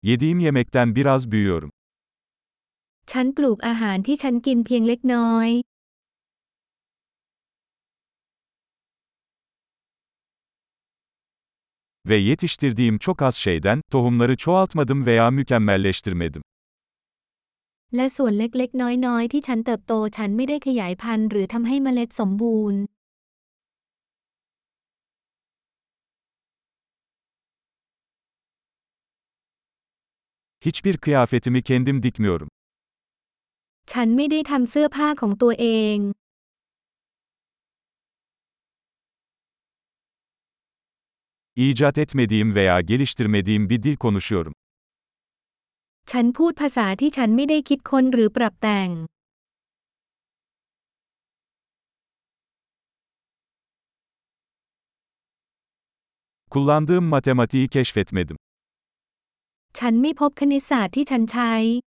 Yediğim yemekten biraz büyüyorum. ฉันปลูกอาหารที่ฉันกินเพียงเล็กน้อย Ve yetiştirdiğim çok az şeyden, tohumları çoğaltmadım veya mükemmelleştirmedim. และส่วนเล็กๆน้อยๆที่ฉันเติบโตฉันไม่ได้ขยายพันธุ์หรือทำให้เมล็ดสมบูรณ์ Hiçbir kıyafetimi kendim dikmiyorum. ฉันไม่ได้ทำเสื้อผ้าของตัวเอง İcat etmediğim veya geliştirmediğim bir dil konuşuyorum. ฉันพูดภาษาที่ฉันไม่ได้คิดค้นหรือปรับแต่ง Kullandığım matematiği keşfetmedim. ฉันไม่พบคณิตศาสตร์ที่ฉันใช้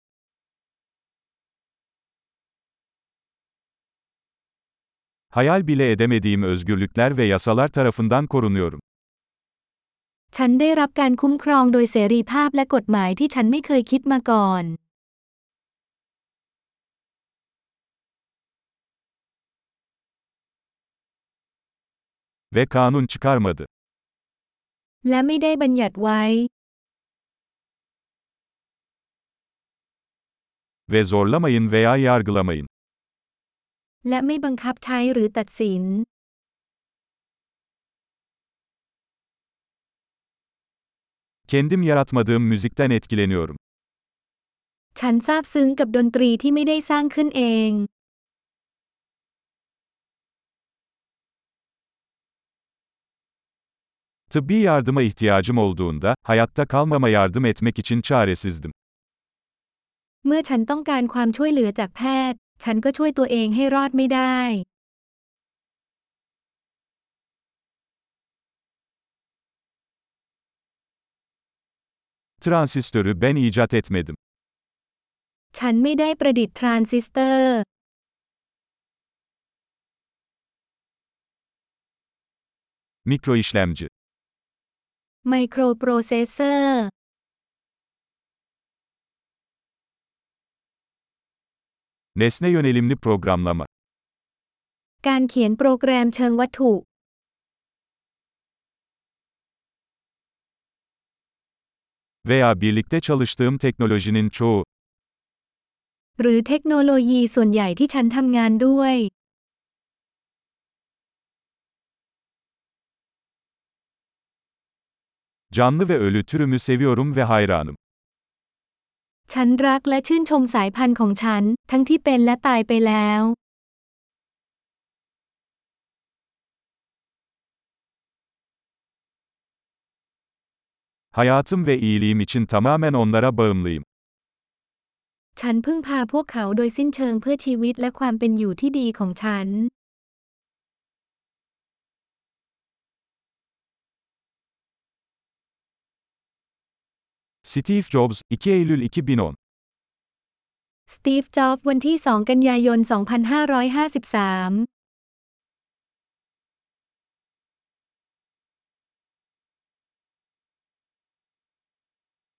Hayal bile edemediğim özgürlükler ve yasalar tarafından korunuyorum. ฉันได้รับการคุ้มครองโดยเสรีภาพและกฎหมายที่ฉันไม่เคยคิดมาก่อน Ve kanun çıkarmadı. และไม่ได้บัญญัติไว้ Ve zorlamayın veya yargılamayın. และไม่บังคับใช้หรือตัดสิน Kendim yaratmadığım müzikten etkileniyorum. ฉันซาบซึ้งกับดนตรีที่ไม่ได้สร้างขึ้นเอง Tıbbi yardıma ihtiyacım olduğunda, hayatta kalmama yardım etmek için çaresizdim. เมื่อฉันต้องการความช่วยเหลือจากแพทย์ ฉันก็ช่วยตัวเองให้รอดไม่ได้ Transistörü ben icat etmedim. ฉันไม่ได้ประดิษฐ์ทรานซิสเตอร์ Mikroişlemci. ไมโครโปรเซสเซอร์ Nesne yönelimli programlama. การเขียนโปรแกรมเชิงวัตถุ Veya birlikte çalıştığım teknolojinin çoğu. หรือเทคโนโลยีส่วนใหญ่ที่ฉันทำงานด้วย Canlı ve ölü türümü seviyorum ve hayranım. ฉันรักและชื่นชมสายพันธุ์ของฉัน ทั้งที่เป็นและตายไปแล้ว Hayatım ve iyiliğim için tamamen onlara bağımlıyım. ฉันพึ่งพาพวกเขาโดยสิ้นเชิงเพื่อชีวิตและความเป็นอยู่ที่ดีของฉัน Steve Jobs, 2 Eylül 2010. สตีฟ จ็อบส์ วันที่ 2 กันยายน 2553